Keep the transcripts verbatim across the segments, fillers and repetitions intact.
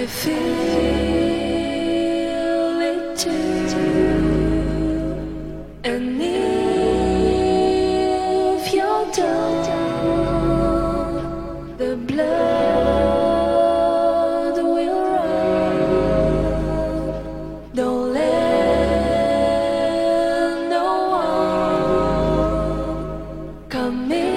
feel it too. And if you're done, the blood will run. Don't let no one come in.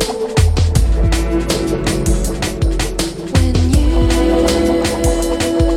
When you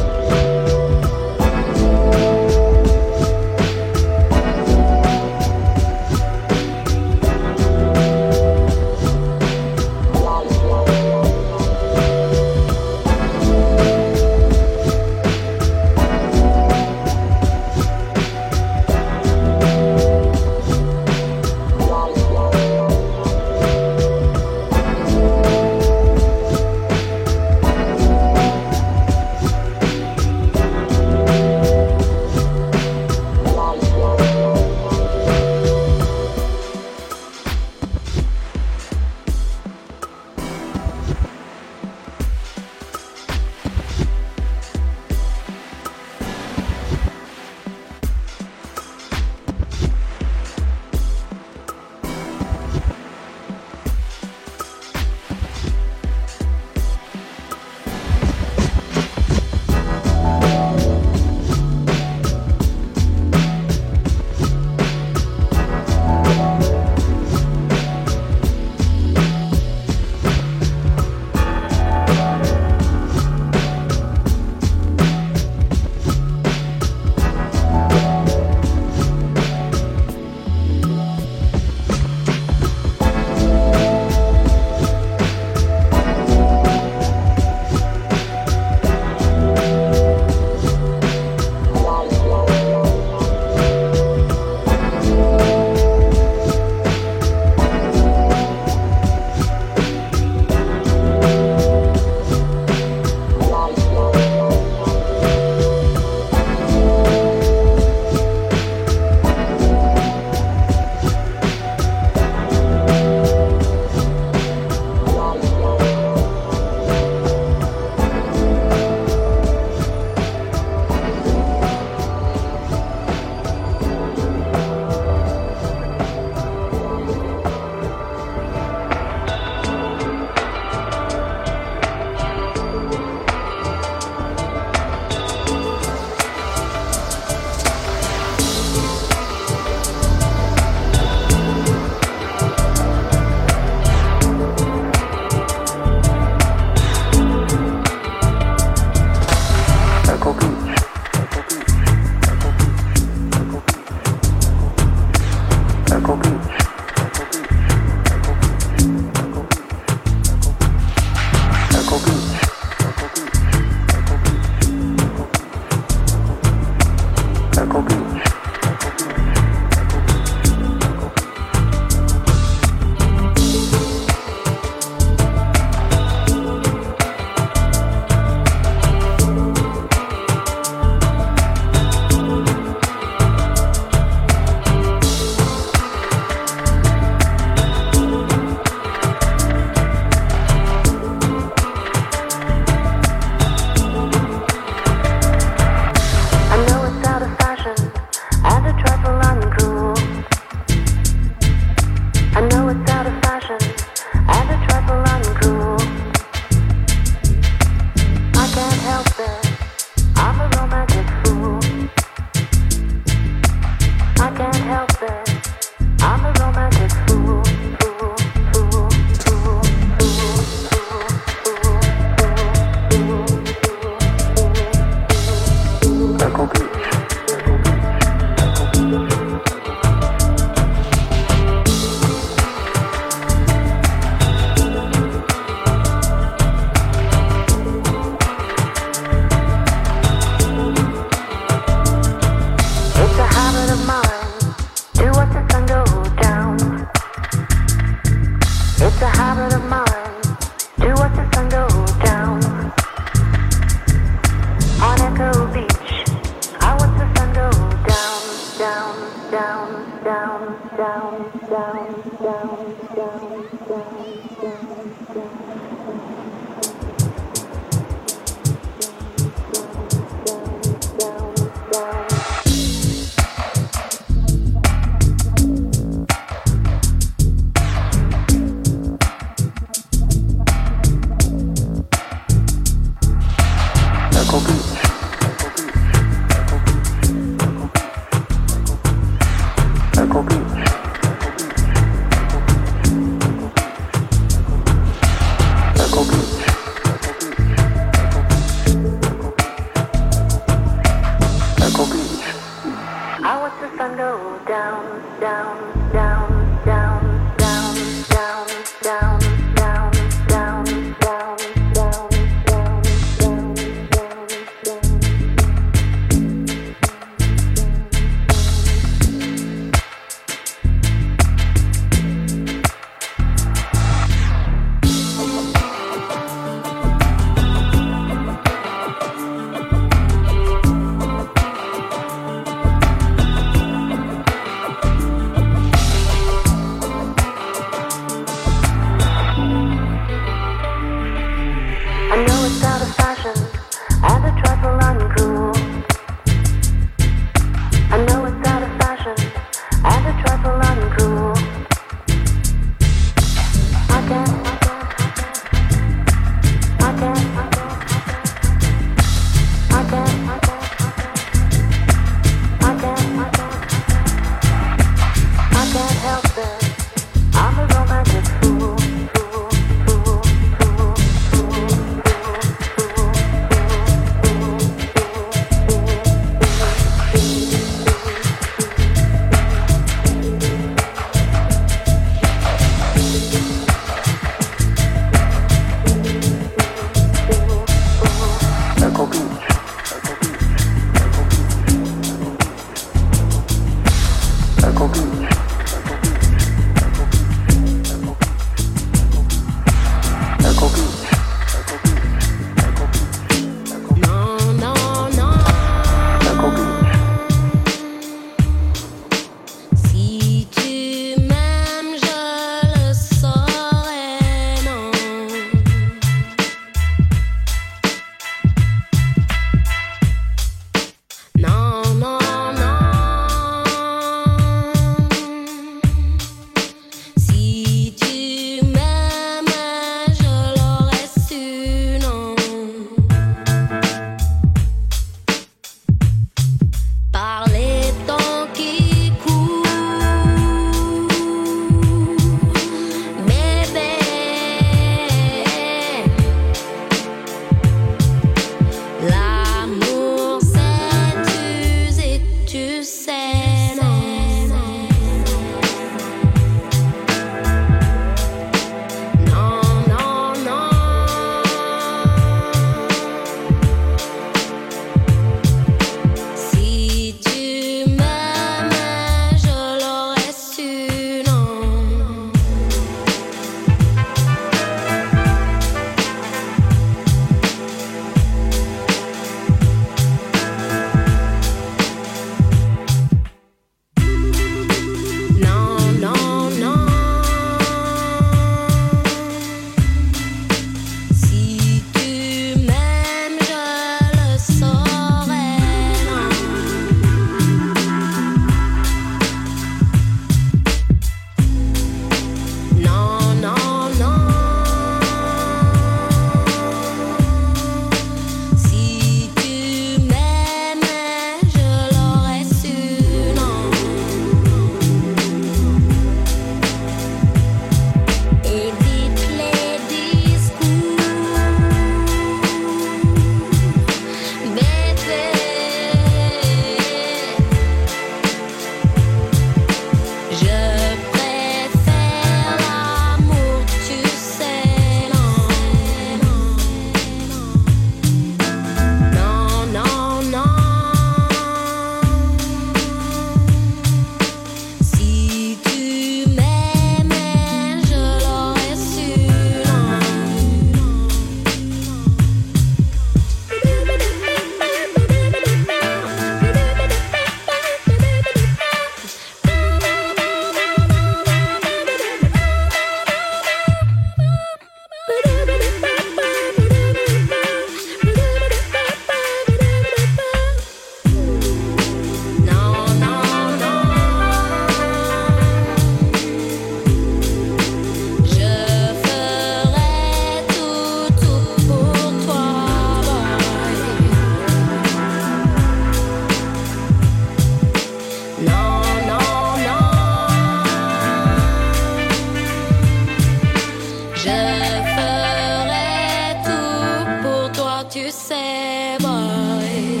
tu sais, boy.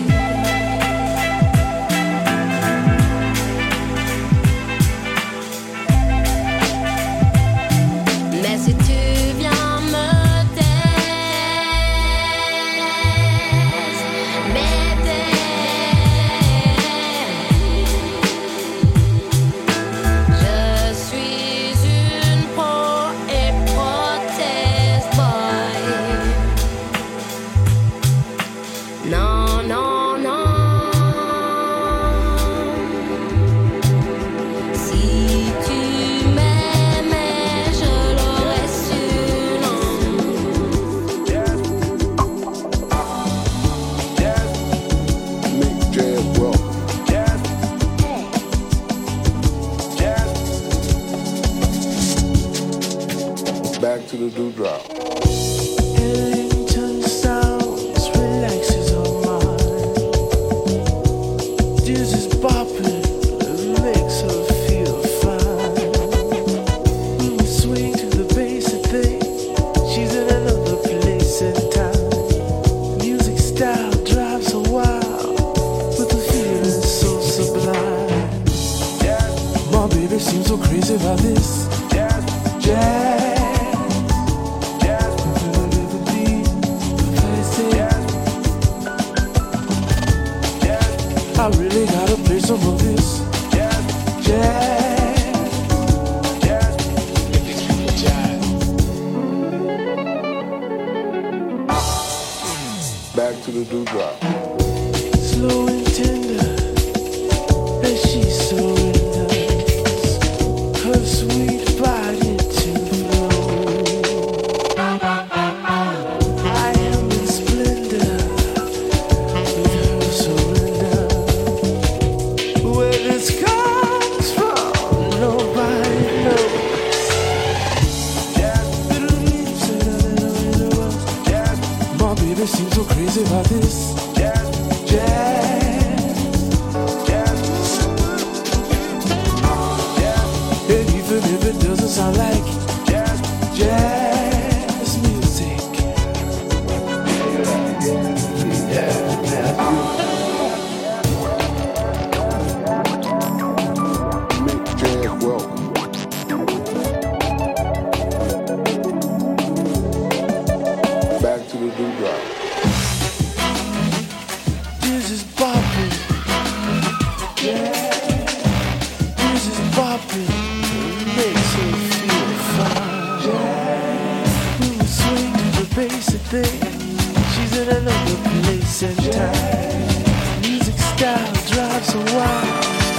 Mais si tu viens me taise, m'aider, je suis une peau et prothèse, boy. Non, non, non. Si tu m'aimais, je l'aurais su, non. Mick Jazz welcome. Back to the dewdrop. Ellington sounds relaxes our mind. Dizzy's bopping, it makes her feel fine. When we swing to the bass and think she's in another place and time. Music style drives her wild, with the feeling so sublime. My baby seems so crazy about this jazz. I really gotta play some of this jazz, jazz, jazz, jazz. Back to the dewdrop. Slow and tender, as she surrenders her sweet body to flow. I am in splendor with her surrender. Where this comes from, nobody knows. My baby seems so crazy about this jazz, jazz. And even if it doesn't sound like jazz, jazz music. Mick Jazz welcome. Back to the dewdrop. This is bopping, yeah. This is bopping, it makes her feel fine. Yeah. When we swing to the basic thing, she's in another place and time. Music style drives her wild.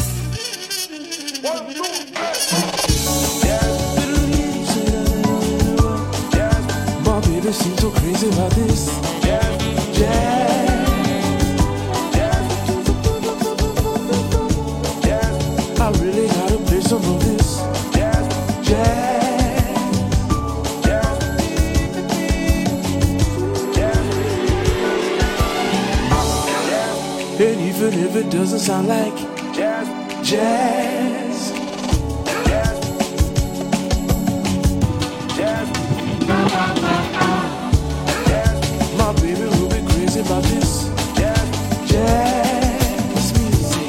My baby seems so crazy about this jazz, jazz. I really gotta play some of this jazz, jazz, jazz. And even if it doesn't sound like jazz, jazz, jazz, my baby will be crazy about this jazz, jazz music.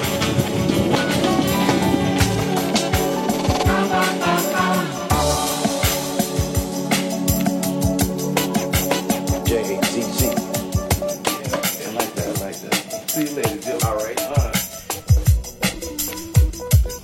J A Z Z. I like that, I like that. See you later, Jill. All right, all right.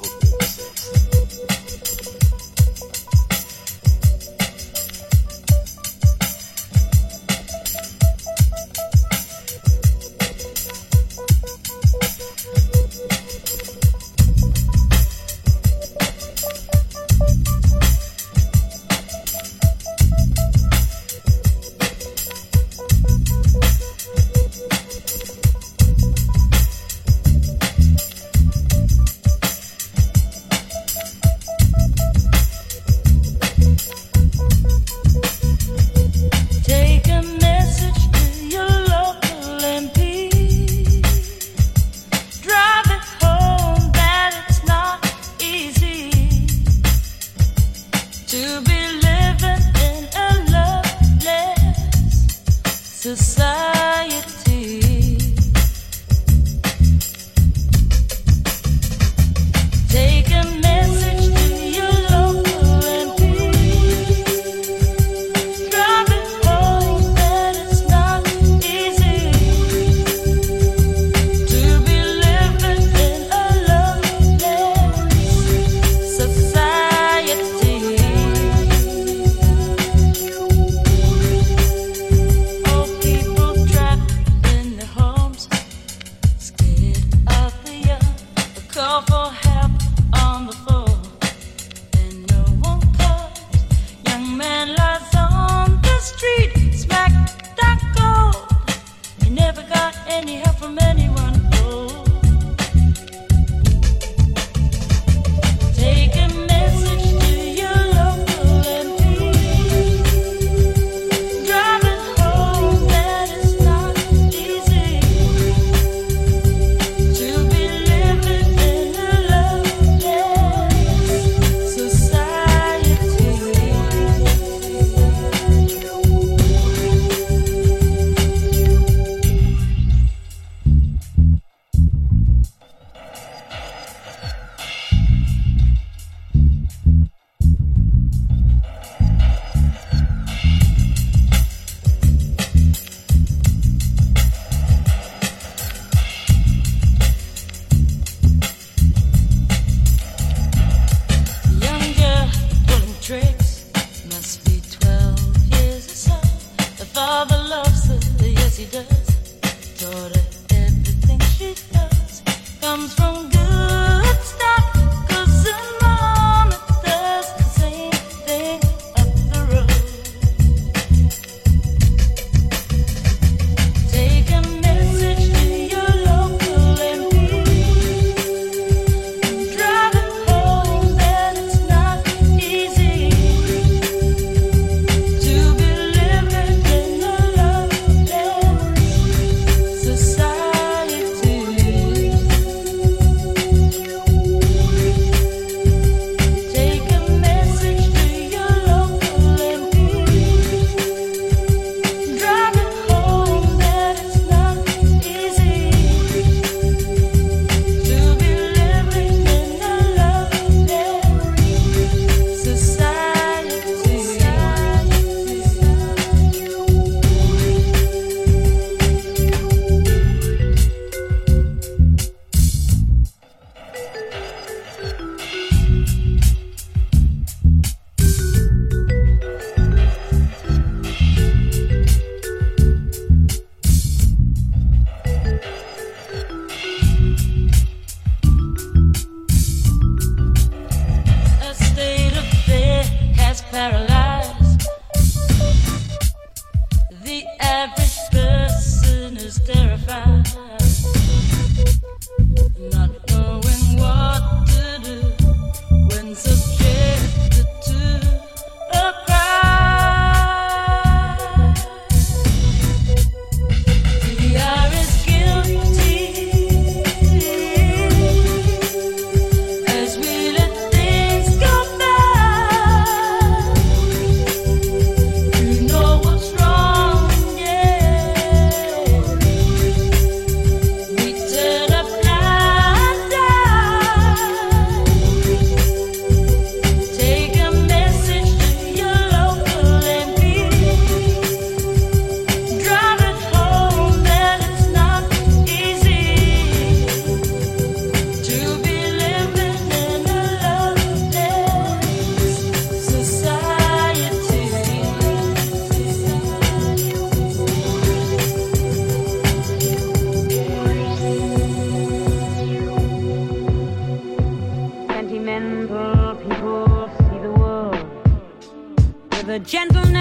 the gentleness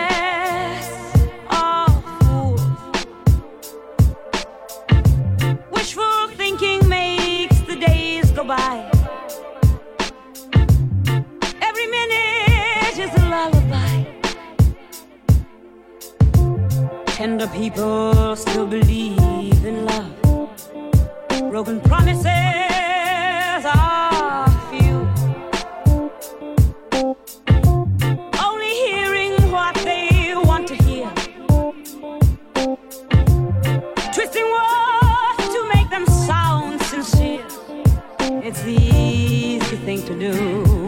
of fools. Wishful thinking makes the days go by. Every minute is a lullaby. Tender people still believe in love. Broken promises are few. Only hearing what they want to hear. twisting words to make them sound sincere. It's the easy thing to do.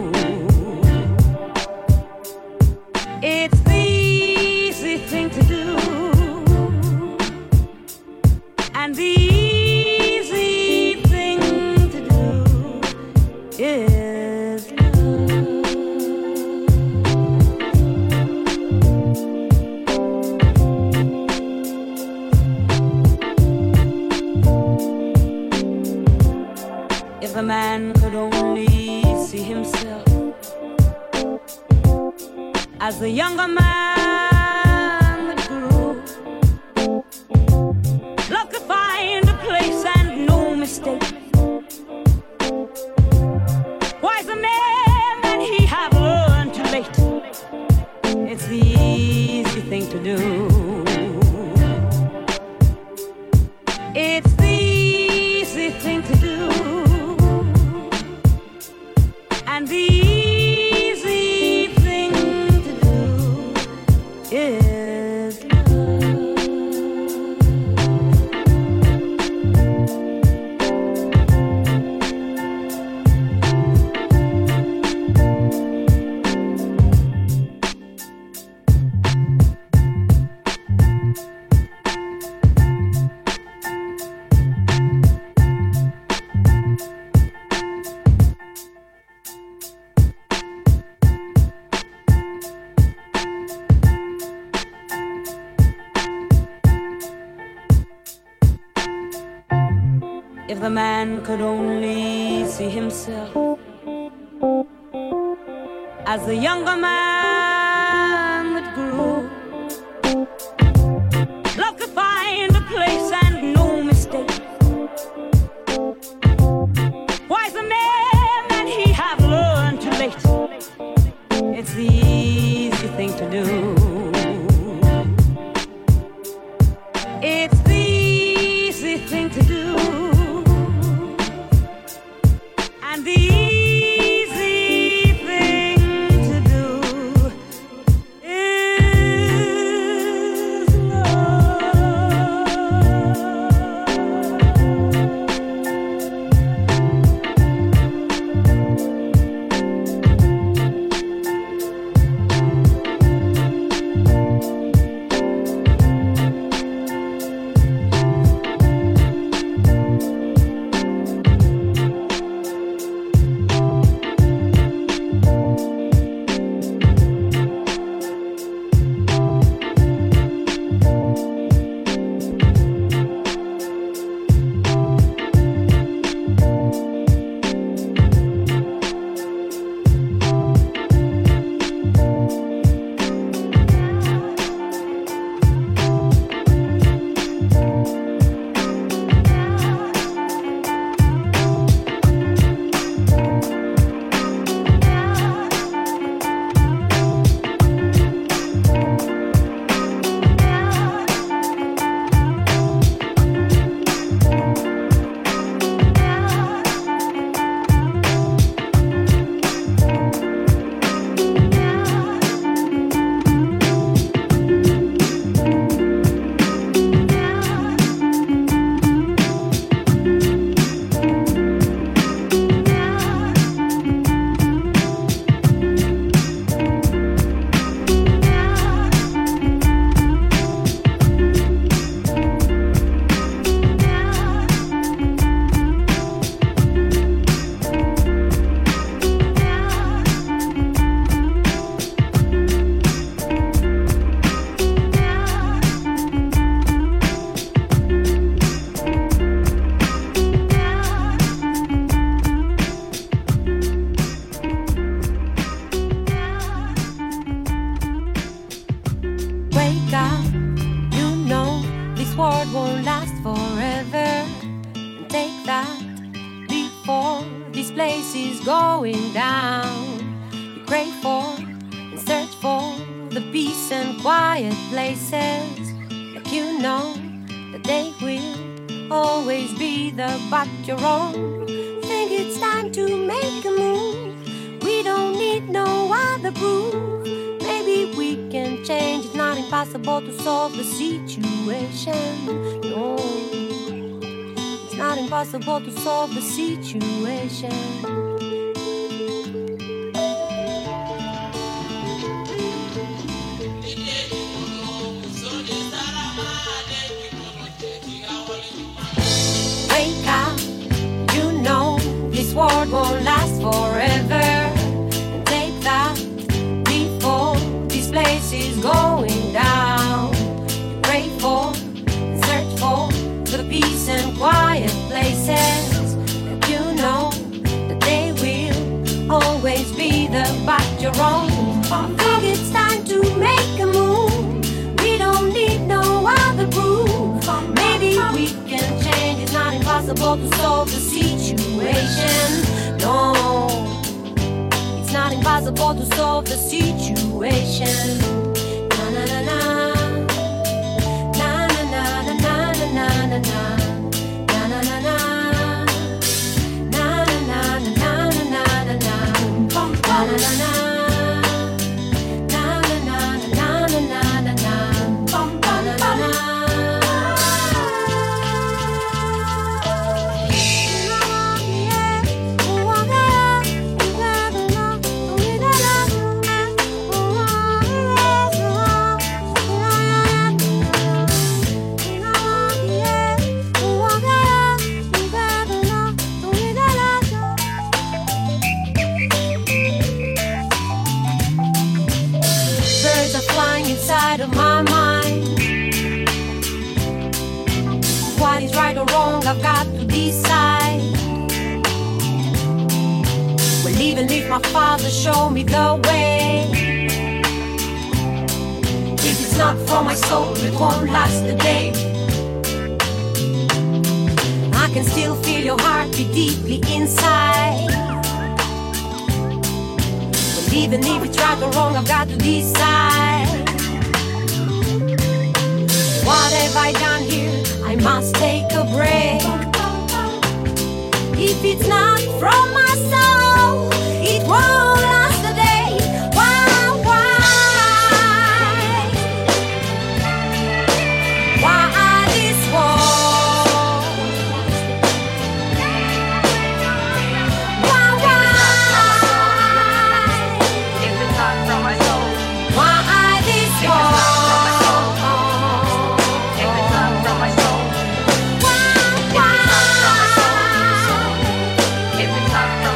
It's the easy thing to do. And the easy thing to do is if a man could only see himself as the younger man that grew, love could find a place and no mistake. Wiser men than he have learned too late. It's the easy thing to do. It's the easy thing to do. And the easy thing to do is if the man could only see himself as the younger man that grew, love could find a place and no mistake. Wiser men than he have learned too late. It's the easy thing to do. It's the easy thing to do. And the easy thing to do is world won't last forever. And take that before this place is going down. You crave for and search for the peace and quiet places, like you know that they will always be there but your own. Think it's time to make a move. We don't need no other proof. Maybe we can change. It's not impossible to solve the situation. No. impossible to solve the situation. Wake up, you know this world won't last forever. And take that before this place is going down. You pray for, search for the peace and quiet places. And you know that they will always be the back your own. I think it's time to make a move. We don't need no other proof. Maybe we can change. It's not impossible to solve the situation. No, it's not impossible to solve the situation. Na na na na, na na na na na na na na na, na na na na, na na na na na na na na, na na na na. Inside of my mind, what is right or wrong, I've got to decide. Well, even if my father showed me the way, if it's not for my soul, it won't last a day. I can still feel your heartbeat deeply inside. Well, even if it's right or wrong, I've got to decide. What have I done here? I must take a break. If it's not from my soul, it won't last a day. Why, why? Why this war? Why, why? If it's not from my soul, why this war? If it's not from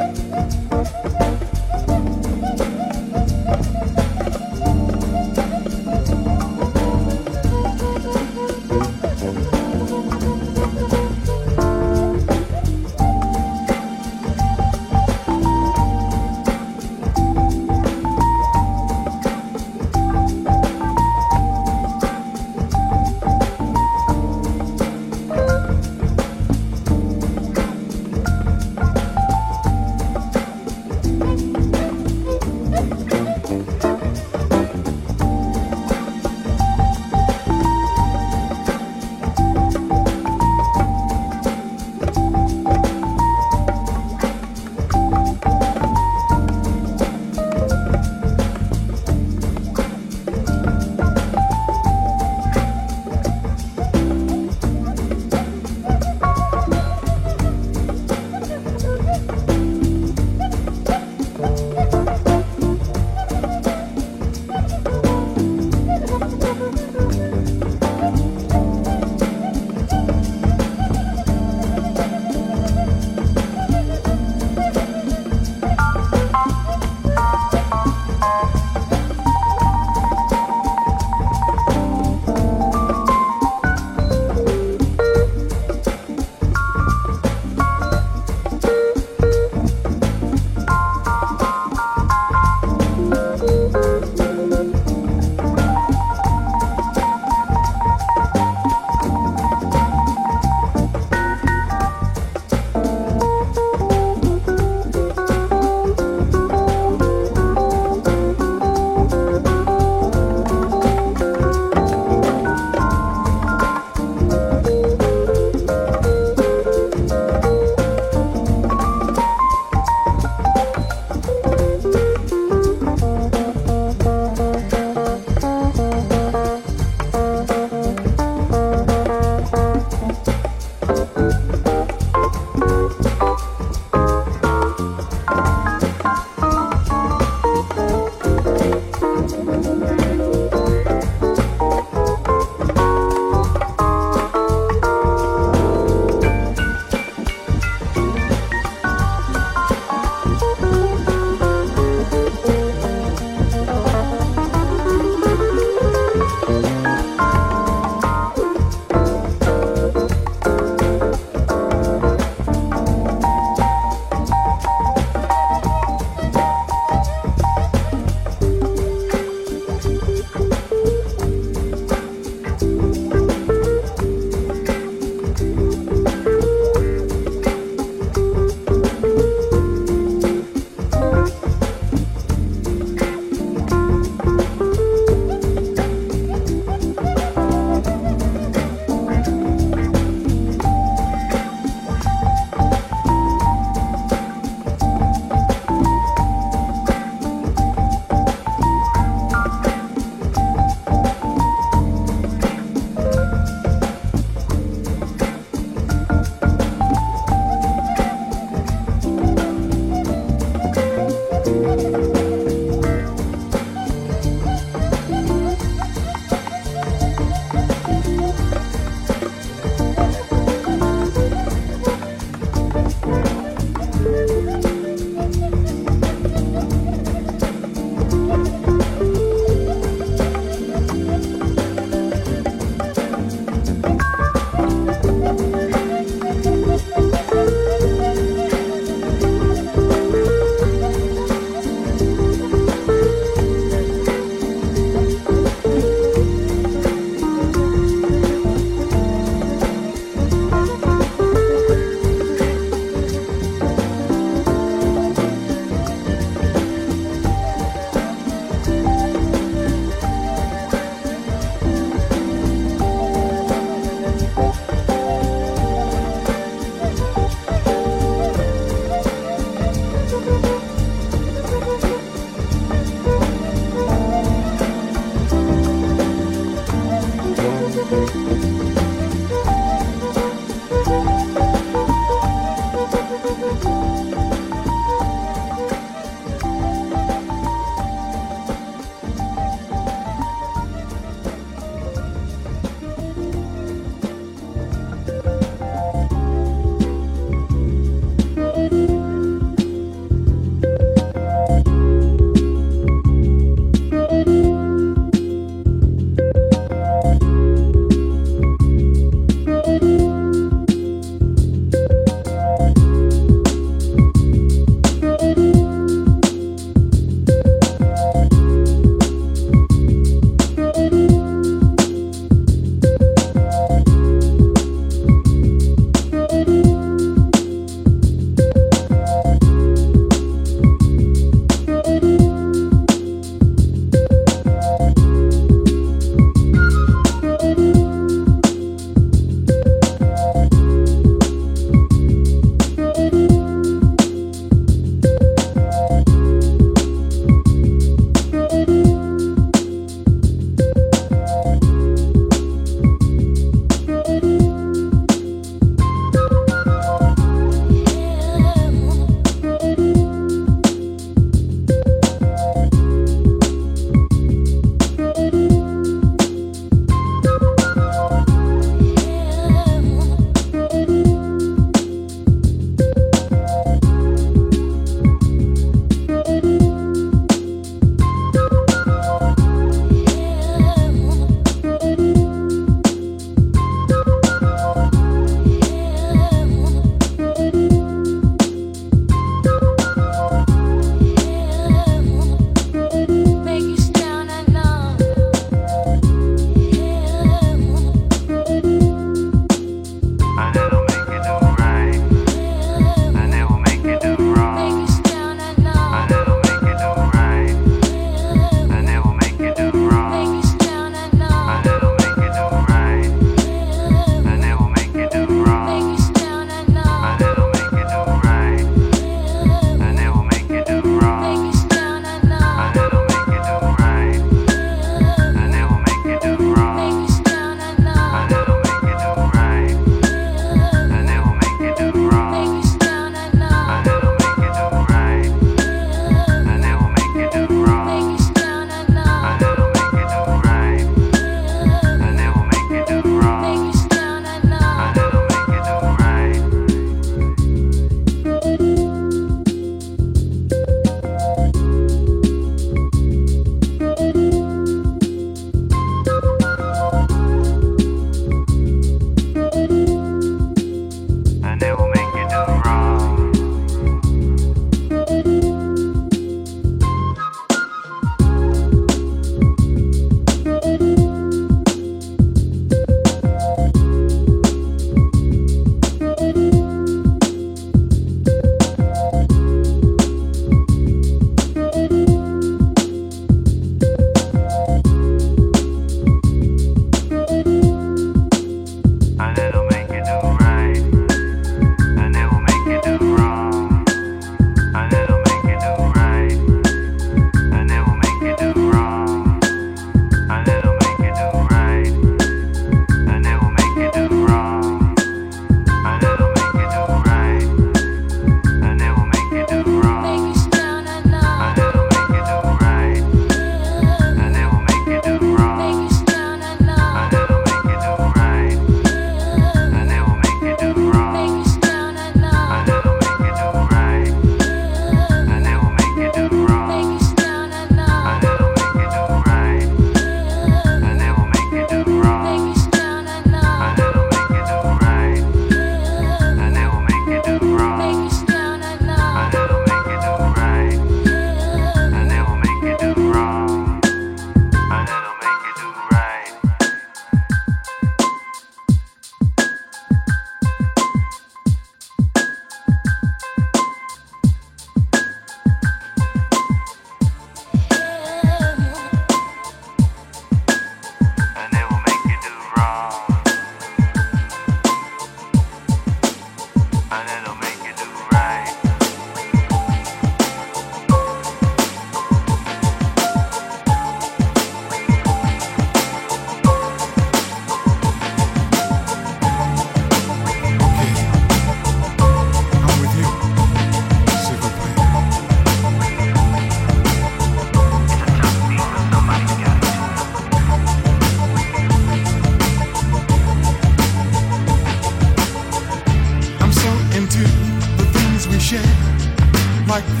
Martin